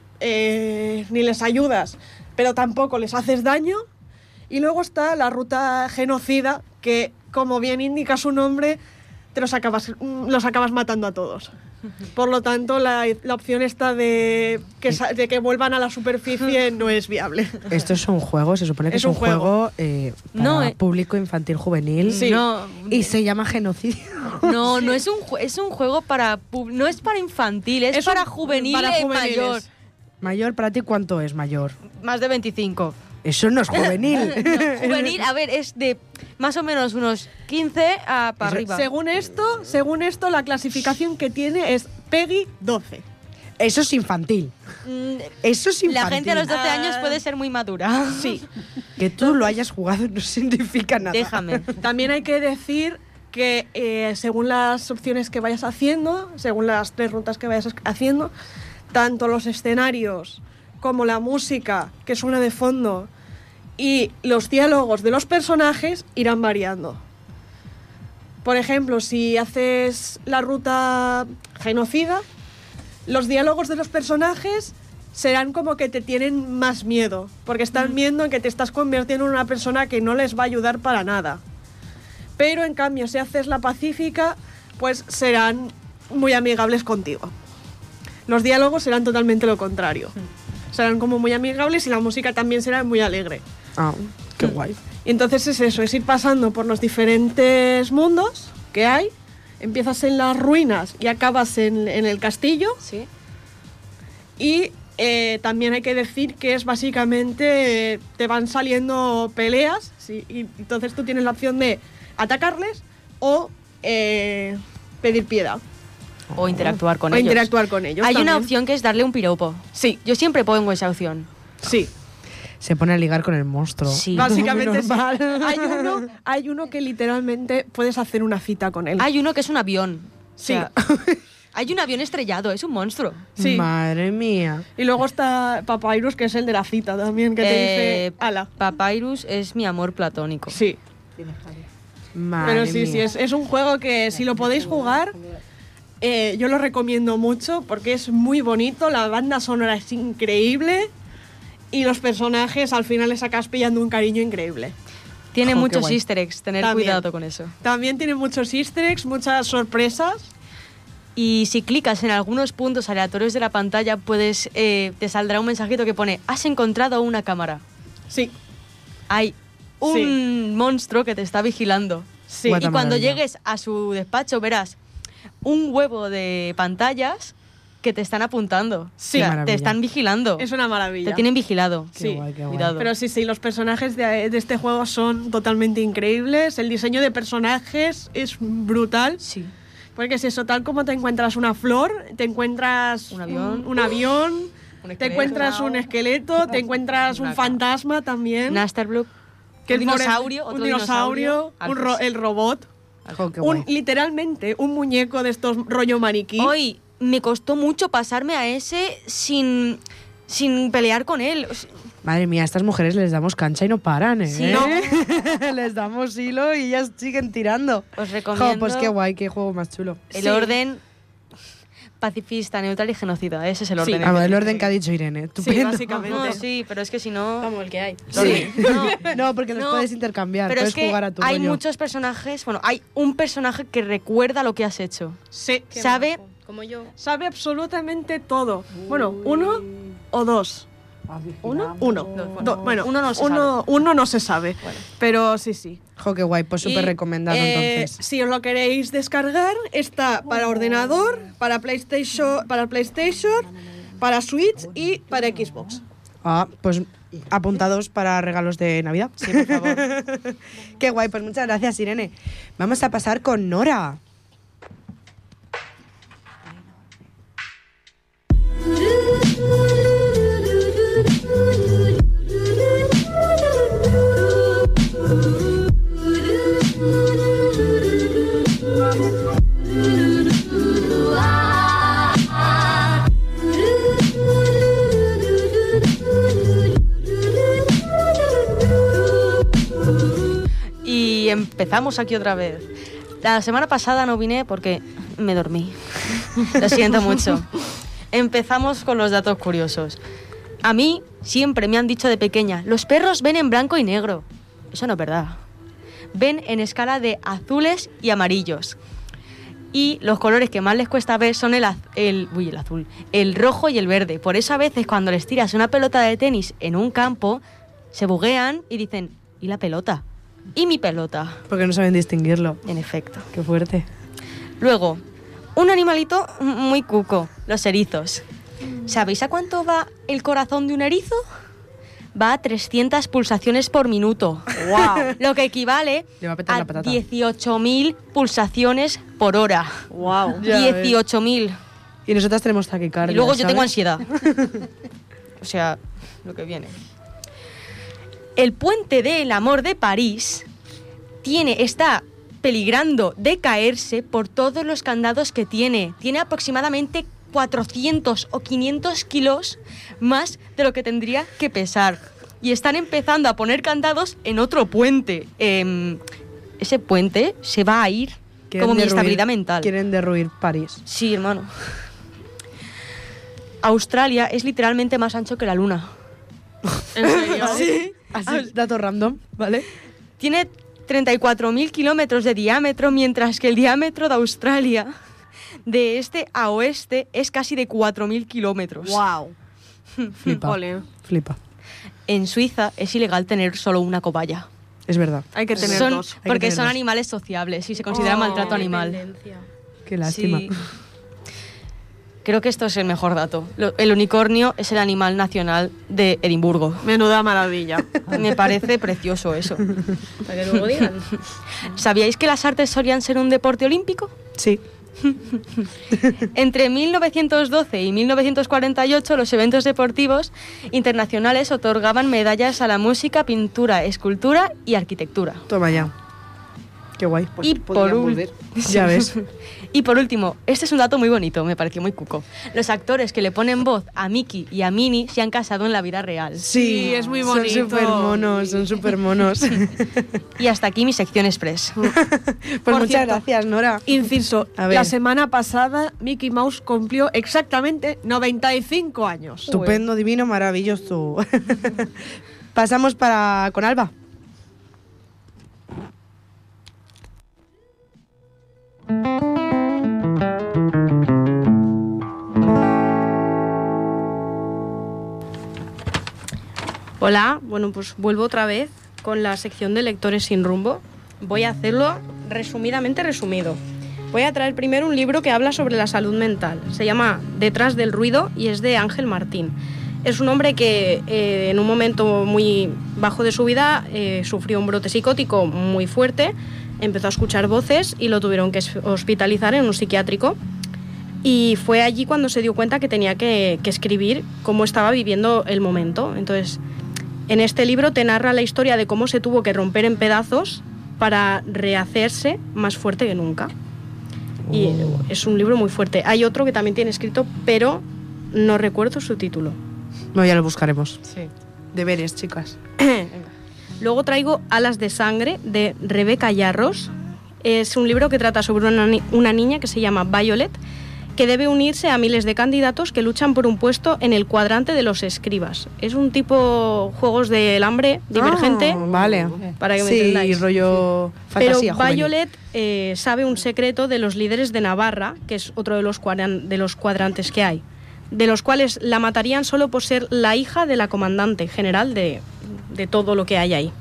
les ayudas, pero tampoco les haces daño. Y luego está la ruta genocida, que como bien indica su nombre, los acabas matando a todos. Por lo tanto, la opción esta de que vuelvan a la superficie no es viable. Esto es un juego, se supone que es un juego para público infantil juvenil. Sí. Y se llama genocidio. No, no es un juego para no es para infantil, es para juvenil y mayor. Mayor, ¿para ti cuánto es mayor? Más de 25. Eso no es juvenil. No, juvenil, a ver, es de más o menos unos 15 para arriba. Según esto, la clasificación que tiene es PEGI 12. Eso es infantil. Eso es infantil. La gente a los 12 años puede ser muy madura. Sí. Que tú lo hayas jugado no significa nada. Déjame. También hay que decir que según las opciones que vayas haciendo, según las 3 rutas que vayas haciendo, tanto los escenarios como la música que suena de fondo y los diálogos de los personajes irán variando. Por ejemplo, si haces la ruta genocida, los diálogos de los personajes serán como que te tienen más miedo, porque están viendo en que te estás convirtiendo en una persona que no les va a ayudar para nada. Pero en cambio, si haces la pacífica, pues serán muy amigables contigo. Los diálogos serán totalmente lo contrario. Serán como muy amigables y la música también será muy alegre. Ah, qué guay. Y entonces es eso, es ir pasando por los diferentes mundos que hay. Empiezas en las ruinas y acabas en el castillo. Sí. Y también hay que decir que es básicamente, te van saliendo peleas, ¿sí? Y entonces tú tienes la opción de atacarles o pedir piedad. O interactuar con o ellos. interactuar con ellos. Hay también. una opción que es darle un piropo. Sí. Yo siempre pongo esa opción. Sí. Se pone a ligar con el monstruo. Sí. Básicamente sí. Normal. Hay uno que literalmente puedes hacer una cita con él. Hay uno que es un avión. Sí. O sea, hay un avión estrellado, es un monstruo. Sí. Madre mía. Y luego está Papyrus, que es el de la cita también, que te dice, ala. Papyrus es mi amor platónico. Sí. Madre Pero sí, mía. sí, es un juego que si lo podéis jugar, yo lo recomiendo mucho porque es muy bonito, la banda sonora es increíble y los personajes al final les acabas pillando un cariño increíble. Tiene Jo, qué muchos guay. easter eggs, tener También. cuidado con eso. También tiene muchos easter eggs, muchas sorpresas. Y si clicas en algunos puntos aleatorios de la pantalla, puedes te saldrá un mensajito que pone «Has encontrado una cámara». Sí, Hay un monstruo que te está vigilando. sí. Guata Y cuando maravilla. llegues a su despacho verás un huevo de pantallas que te están apuntando. Sí. O sea, Maravilla. te están vigilando. Es una maravilla. Te tienen vigilado. Qué Sí. guay, qué guay. Cuidado. Pero sí, los personajes de este juego son totalmente increíbles. El diseño de personajes es brutal. Sí. Porque es eso, tal como te encuentras una flor, te encuentras Un avión. un avión, Un te esqueleto. encuentras un esqueleto, te encuentras un Una fantasma también. Nasterbloop. que Un es more- dinosaurio, otro un dinosaurio, dinosaurio. el robot. Jo, qué guay. Literalmente un muñeco de estos rollo maniquí. Hoy me costó mucho pasarme a ese sin pelear con él. O sea, Madre mía, a estas mujeres les damos cancha y no paran, ¿eh? Sí. No. Les damos hilo y ellas siguen tirando. os recomiendo Jo, pues qué guay, qué juego más chulo. el Sí. orden pacifista, neutral y genocida. Ese es el orden. Ah, bueno, el orden que ha dicho Irene. Sí, Estupendo. básicamente. No, sí, pero es que si no... Vamos, el que hay. Sí. No, No, porque los No, puedes intercambiar, pero puedes es que jugar a tu hay rollo. muchos personajes... Bueno, hay un personaje que recuerda lo que has hecho. Sí. Qué Sabe... majo. Como yo. Sabe absolutamente todo. Bueno, uno o dos. Uno. Bueno, Uno no se uno no se sabe. Pero sí, sí. Jo, qué guay, pues súper Y, recomendado entonces. Si os lo queréis descargar, está para ordenador, para PlayStation, para Switch y para Xbox. Ah, pues apuntados para regalos de Navidad. Sí, por favor. Qué guay, pues muchas gracias, Irene. Vamos a pasar con Nora. Y empezamos aquí otra vez. La semana pasada no vine porque me dormí. Lo siento mucho. Empezamos con los datos curiosos. A mí siempre me han dicho de pequeña, los perros ven en blanco y negro. Eso no es verdad. Ven en escala de azules y amarillos. Y los colores que más les cuesta ver son el azul, el rojo y el verde. Por eso a veces cuando les tiras una pelota de tenis en un campo, se buguean y dicen, ¿y la pelota? ¿Y mi pelota? Porque no saben distinguirlo. En efecto. Qué fuerte. Luego, un animalito muy cuco, los erizos. ¿Sabéis a cuánto va el corazón de un erizo? Va a 300 pulsaciones por minuto. ¡Wow! Lo que equivale Le va a petar a la patata. 18.000 pulsaciones por hora. ¡Wow! 18.000. Y nosotras tenemos taquicardia. Y luego yo tengo ¿sabes? ansiedad. O sea, lo que viene. El puente del amor de París está peligrando de caerse por todos los candados que tiene. Tiene aproximadamente 400 o 500 kilos más de lo que tendría que pesar. Y están empezando a poner candados en otro puente. Ese puente se va a ir como mi estabilidad mental. Quieren derruir París. Sí, hermano. Australia es literalmente más ancho que la luna. ¿En serio? Sí. Así, dato random, ¿vale? Tiene 34.000 kilómetros de diámetro, mientras que el diámetro de Australia, de este a oeste, es casi de 4.000 kilómetros. ¡Wow! Flipa. Ole. Flipa. En Suiza es ilegal tener solo una cobaya. Es verdad. Hay que tener Son- dos. Hay que porque tener son dos. animales sociables y se considera maltrato animal. Qué lástima. Sí. Creo que esto es el mejor dato. El unicornio es el animal nacional de Edimburgo. Menuda maravilla. Me parece precioso eso. Para que luego digan. ¿Sabíais que las artes solían ser un deporte olímpico? Sí. Entre 1912 y 1948 los eventos deportivos internacionales otorgaban medallas a la música, pintura, escultura y arquitectura. Toma ya. Qué guay. Pues y podrían por volver. Ya ves. Y por último, este es un dato muy bonito, me pareció muy cuco. Los actores que le ponen voz a Mickey y a Minnie se han casado en la vida real. Sí, es muy bonito. Son súper monos, son súper monos. Y hasta aquí mi sección express. Pues muchas cierto, gracias, Nora. Inciso, A ver. la semana pasada Mickey Mouse cumplió exactamente 95 años. Estupendo, divino, maravilloso. Pasamos con Alba. Hola, bueno, pues vuelvo otra vez con la sección de lectores sin rumbo. Voy a hacerlo resumidamente resumido. Voy a traer primero un libro que habla sobre la salud mental. Se llama Detrás del ruido y es de Ángel Martín. Es un hombre que en un momento muy bajo de su vida sufrió un brote psicótico muy fuerte, empezó a escuchar voces y lo tuvieron que hospitalizar en un psiquiátrico. Y fue allí cuando se dio cuenta que tenía que escribir cómo estaba viviendo el momento. Entonces, en este libro te narra la historia de cómo se tuvo que romper en pedazos para rehacerse más fuerte que nunca. Y es un libro muy fuerte. Hay otro que también tiene escrito, pero no recuerdo su título. No, ya lo buscaremos. Sí. Deberes, chicas. Luego traigo Alas de sangre, de Rebeca Yarros. Es un libro que trata sobre una niña que se llama Violet, que debe unirse a miles de candidatos que luchan por un puesto en el cuadrante de los escribas. Es un tipo juegos del hambre divergente, Ah, vale. para que me sí, entendáis. rollo Pero fantasía juvenil. Violet sabe un secreto de los líderes de Navarra, que es otro de los cuadrantes que hay, de los cuales la matarían solo por ser la hija de la comandante general de todo lo que hay ahí.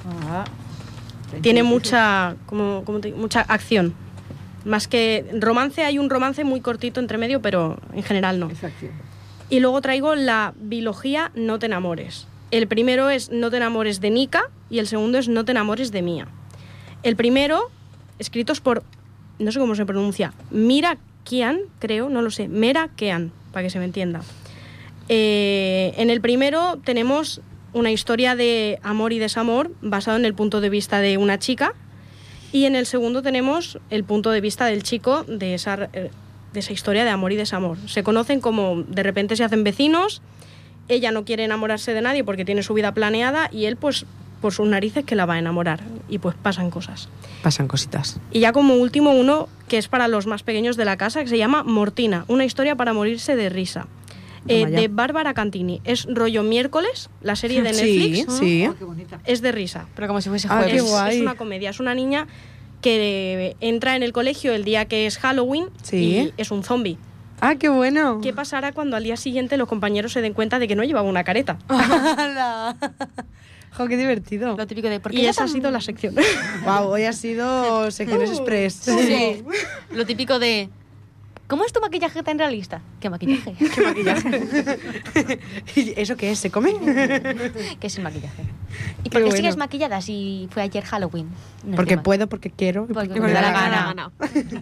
Tiene mucha mucha acción. Más que romance, hay un romance muy cortito entre medio, pero en general no. Exacto. Y luego traigo la biología No te enamores. El primero es No te enamores de Nika y el segundo es No te enamores de Mía. El primero, escritos por, no sé cómo se pronuncia, Mira Kean, creo, no lo sé, Mera Kean, para que se me entienda. En el primero tenemos una historia de amor y desamor basado en el punto de vista de una chica. Y en el segundo tenemos el punto de vista del chico de esa historia de amor y desamor. Se conocen como de repente se hacen vecinos, ella no quiere enamorarse de nadie porque tiene su vida planeada y él pues por sus narices que la va a enamorar y pues pasan cosas. Pasan cositas. Y ya como último uno que es para los más pequeños de la casa que se llama Mortina, una historia para morirse de risa. De Bárbara Cantini. Es rollo miércoles, la serie de Netflix. Sí, sí. Qué bonita. Es de risa. Pero como si fuese Ah, jueves. qué guay. Es una comedia, es una niña que entra en el colegio el día que es Halloween Sí. y es un zombie. ¡Ah, qué bueno! ¿Qué pasará cuando al día siguiente los compañeros se den cuenta de que no llevaba una careta? ¡Hala! ¡Jo, qué divertido! Lo típico de... ¿por qué Y ella esa ha tan- sido la sección. Wow, hoy ha sido secciones express. Sí. Lo típico de... ¿Cómo es tu maquillaje tan realista? ¿Qué maquillaje? ¿Qué maquillaje? ¿Y eso qué es? ¿Se come? ¿Qué es el maquillaje? ¿Y Qué por qué bueno. sigues maquillada si fue ayer Halloween? No Porque entiendo. puedo, porque quiero. y Porque me da la gana. gana.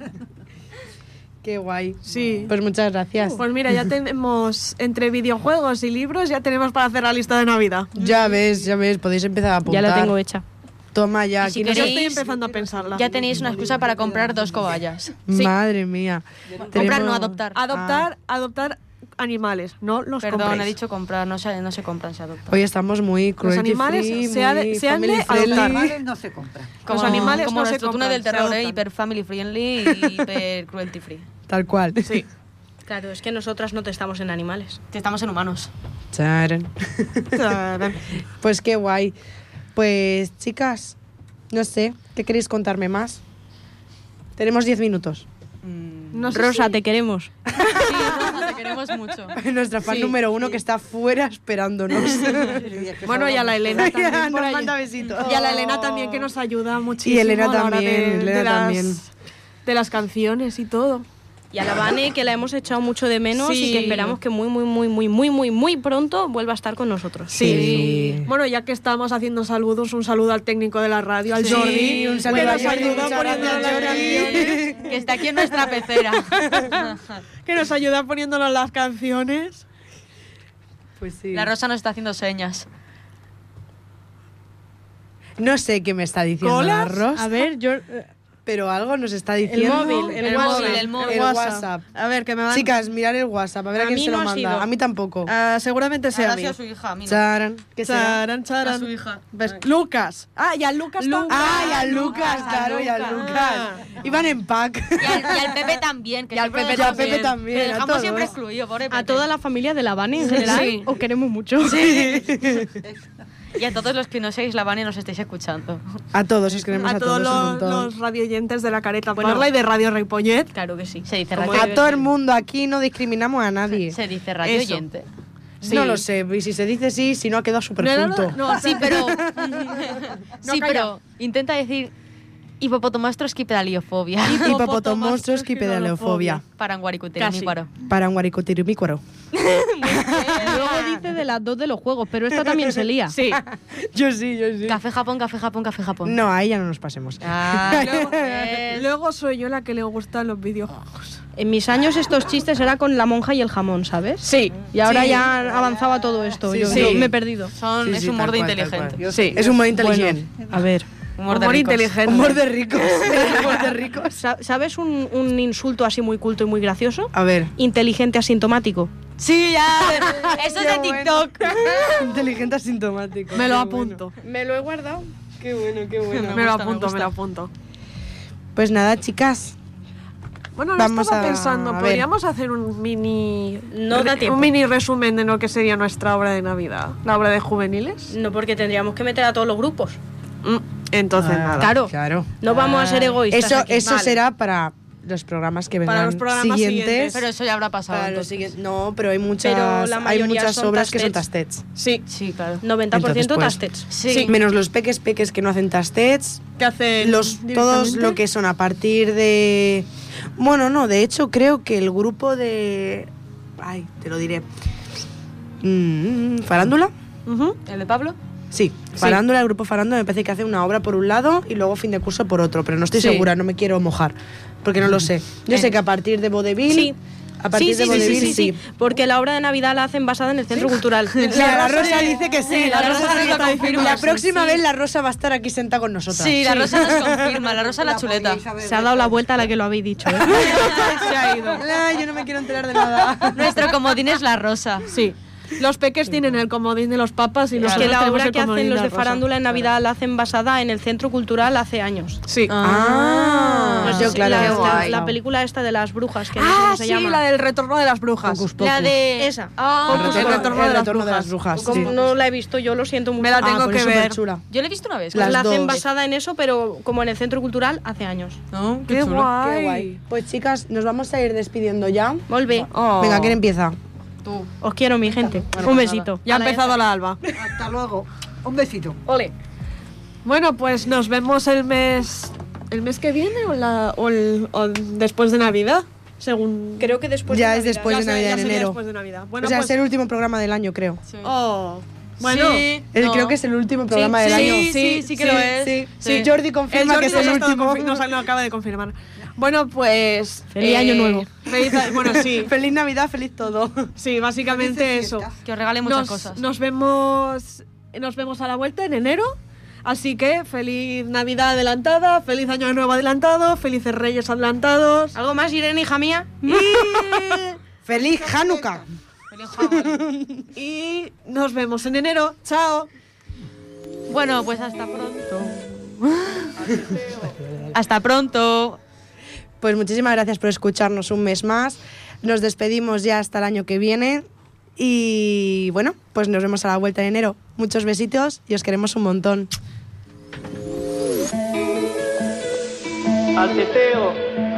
Qué guay. Sí. Pues muchas gracias. Pues mira, ya tenemos entre videojuegos y libros, ya tenemos para hacer la lista de Navidad. Ya ves, podéis empezar a Ya apuntar. la tengo hecha. Toma ya. Y si aquí no Yo sé- estoy empezando a pensarla. Ya tenéis una excusa para comprar 2 cobayas. Madre mía. Comprar, Tenemos- no adoptar. Adoptar animales, no los Perdón, compréis. he dicho comprar, no se compran, se adoptan. Hoy estamos muy cruelty animales free, se ha de- muy se han de family adoptar. friendly. Animales no se compran. Los animales como no se nuestro túnel compran, del se terror, adoptan. hiper family friendly y hiper cruelty free. Tal cual. Sí. Claro, es que nosotras no testamos en animales. Estamos en humanos. Charan. Pues qué guay. Pues chicas, no sé, ¿qué queréis contarme más? Tenemos 10 minutos. No sé Rosa, si- te queremos. Sí, Rosa, te queremos mucho. Nuestra fan Sí, número 1 que está fuera esperándonos. Bueno, y a la Elena también por Nos allí. manda besitos. Y a la Elena también, que nos ayuda muchísimo. Y Elena a la hora también, Elena también. de las canciones y todo. Y a la Vane, que la hemos echado mucho de menos Sí. y que esperamos que muy pronto vuelva a estar con nosotros. Sí. Bueno, ya que estamos haciendo saludos, un saludo al técnico de la radio, al Sí, Jordi. un saludo que a nos Jordi, ayuda muchas poniéndonos gracias, las Jordi. canciones. Que está aquí en nuestra pecera. Que nos ayuda poniéndonos las canciones. Pues sí. La Rosa nos está haciendo señas. No sé qué me está diciendo la ¿Colas? Rosa, A ver, yo... pero algo nos está diciendo. móvil, el móvil. el WhatsApp. A ver, que me van... Chicas, mirar el WhatsApp, a ver a, A quién mí se no lo ha manda. sido. A mí tampoco. seguramente sea a mí. Gracias a su hija, a mí no. Charan. ¿Qué será? Charan, charan. A su hija. ¿Ves? Lucas. Ah, y al Lucas también. Ah, y al Lucas, claro, y al Lucas. Iban en pack. Y al Pepe también. Que Y al siempre Pepe lo dejamos- también, también, que a dejamos todos. siempre excluido, pobre Pepe. A toda la familia de la Vane en general, Sí. os queremos mucho. Y a todos los que no seáis la Vane y nos estáis escuchando. A todos, os queremos A todos un montón. los radioyentes de la Careta Bueno. Parla y de Radio Ripollet. Claro que sí. Se dice Como radio. A todo el mundo, aquí no discriminamos a nadie. Se dice radio Eso. oyente. No lo sé, y si se dice sí, si no ha quedado súper junto. Sí, pero. sí, calla. pero intenta decir hipopotomastros-quipedaliofobia. Hipopotomostros-quipedaleofobia. Paranguaricuterimícuaro. Para un guaricotirumícuaro. Luego dice de las 2 de los juegos, pero esta también se lía. Sí. Yo sí. Café Japón, café Japón, café Japón. No, ahí ya no nos pasemos. Ah, Luego soy yo la que le gustan los videojuegos. En mis años estos chistes era con la monja y el jamón, ¿sabes? Sí. Y ahora ya avanzaba todo esto. Sí, yo, sí. yo me he perdido. son, Sí, es sí, humor tal de cual, tal inteligente. cual. Sí. Es humor inteligente. A ver, Humor de Humor ricos. inteligente. Humor de ricos. Humor de ricos. ¿sabes un insulto así muy culto y muy gracioso? A ver. Inteligente asintomático. Sí, ya. Eso es de TikTok. Inteligente asintomático. Me lo Qué apunto. Me lo he guardado. Qué bueno, qué bueno. Me lo gusta, me apunto, me gusta. lo apunto. Pues nada, chicas. Bueno, lo Vamos estaba a pensando, ver. podríamos hacer un mini... No da tiempo. Un mini resumen de lo que sería nuestra obra de Navidad. La obra de juveniles. No, porque tendríamos que meter a todos los grupos. Entonces, Ah, nada. Claro. No vamos a ser egoístas. Eso, aquí. eso Vale. será para los programas que vengan Para los programas siguientes. Pero eso ya habrá pasado. Para los entonces. siguientes. No, pero hay muchas, Pero la hay mayoría muchas son obras que son tastets. tastets. Sí. Sí, claro. 90% Entonces, pues, tastets. Sí. Menos los peques que no hacen tastets. ¿Qué hacen? Todos directamente? lo que son a partir de... Bueno, no, de hecho creo que el grupo de... Ay, te lo diré. ¿Farándula? Ujú. ¿El de Pablo? Sí, Farándula, el grupo Farándula me parece que hace una obra por un lado y luego fin de curso por otro, pero no estoy Sí. segura, no me quiero mojar, porque no lo sé. Yo sé que a partir de Vodevil... Sí. A partir de Vodevil, sí. Porque la obra de Navidad la hacen basada en el Centro Cultural. La Rosa dice que sí. La Rosa nos lo confirma. La próxima Sí. vez la Rosa va a estar aquí sentada con nosotras. Sí, la Rosa nos confirma. La Rosa la chuleta. Se ha dado la vuelta a la que lo habéis dicho. Se ha ido. Yo no me quiero enterar de nada. Nuestro comodín es la Rosa. Sí. Los peques tienen el comodín de los papas y Es nosotros que la tenemos obra el que hacen comodín los de la rosa. farándula en Navidad la hacen basada en el Centro Cultural hace años. Sí. Pues yo, claro. la película esta de las brujas, que no sé cómo se sí, llama. la del retorno de las brujas. La de esa. El retorno de las brujas. Como sí. no la he visto, yo lo siento mucho. Me la tengo pues que es ver. superchula. Yo la he visto una vez. Las la hacen dos. basada en eso, pero como en el Centro Cultural hace años. ¿No? Qué guay. Qué guay. Pues chicas, nos vamos a ir despidiendo ya. Volve. Venga, ¿quién empieza? Tú. Os quiero, mi gente. Un besito. Ya ha empezado la alba. Hasta luego. Un besito. Ole. Bueno, pues nos vemos el mes que viene o después de Navidad, según... Creo que después Ya de es Navidad. después de Ya Navidad, en sería enero. después de Navidad. Bueno, O sea, pues, es el último programa del año, creo. Oh, bueno. Sí, Creo que es el último programa del año. Sí que lo es. Sí, Jordi confirma Jordi que es el nos ha último. nos lo acaba de confirmar. Bueno, pues... Feliz año nuevo. Bueno, sí. Feliz Navidad, feliz todo. Sí, básicamente eso. Que os regale muchas cosas. Nos vemos a la vuelta en enero. Así que feliz Navidad adelantada, feliz Año Nuevo adelantado, felices Reyes adelantados. ¿Algo más, Irene, hija mía? Y, Feliz Hanukkah. y nos vemos en enero. Chao. Bueno, pues hasta pronto. Hasta pronto. Pues muchísimas gracias por escucharnos un mes más. Nos despedimos ya hasta el año que viene. Y bueno, pues nos vemos a la vuelta en enero. Muchos besitos y os queremos un montón. Al teteo.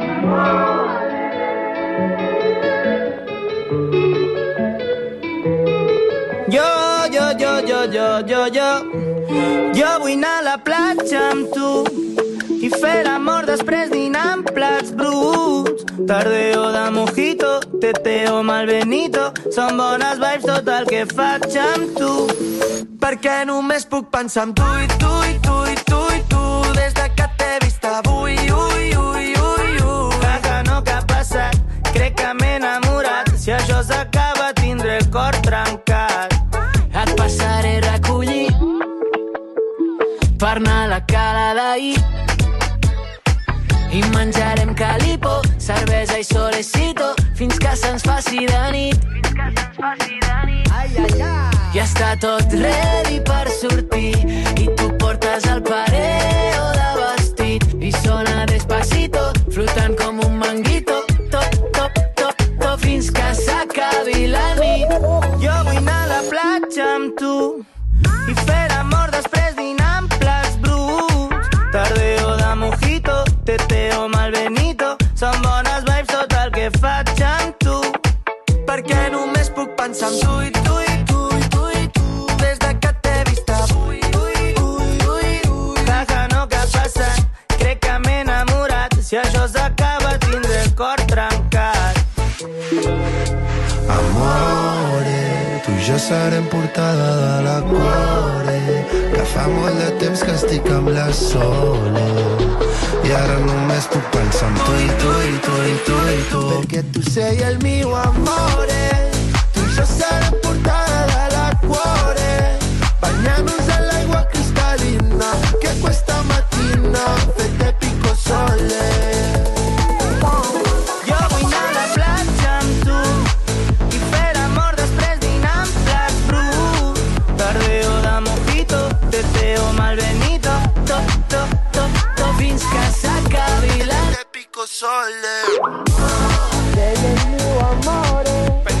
Jo vull anar a la platja amb tu i fer l'amor després dinar amb plats bruts. Tardeo de mojito, teteo malbenito, són bones vibes tot el que faig amb tu. Perquè només puc pensar en tu i tu i tu i tu i tu des de que t'he vist avui, ui, ui, ui, ui. Que no que ha passat, crec que m'he enamorat. Si això s'acaba tindré el cor trencat. Et passaré a recollir per anar a la cala d'ahir i menjarem calipo, cervesa i solecito fins que se'ns faci de nit. Ai, ai, ai. Ja està tot ready per sortir i tu portes el pareo de vestit i sona despacito, flotant com un manguito, top, top, top, top, fins que s'acabi la nit. Jo vull anar a la platja amb tu i fer amor després dinar amb plats bruts. Tardeo de mojito, teteo malbenito, són bones vibes tot el que faig amb tu. Perquè només puc pensar en tu i tu i tu i tu i tu des de que t'he vist avui, ui, ui, ui, ui. Que no que ha passat, crec que m'he enamorat. Si això s'acaba tindré el cor trencat. Amore, tu i jo serem portada de la cuore, que fa molt de temps que estic amb la Sole i ara només puc pensar en tu i tu i tu i tu i tu, perquè tu sei el mio amore. Tu i jo serem portada de la cuore, bagnant-nos en l'aigua cristal·lina che questa mattina fette picco sole. Jo vull anar a la platja amb tu i fer amor després dinar amb plats bruts. Tardeo de mojito, teteo malbenito, top, top, top, top, fins que s'acabi la nit. Pico sole. Sei el mio amore.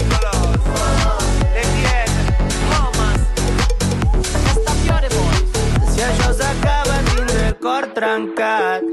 Le chiede, Thomas, Castafiore Boys. Si això s'acaba tindré el cor trencat.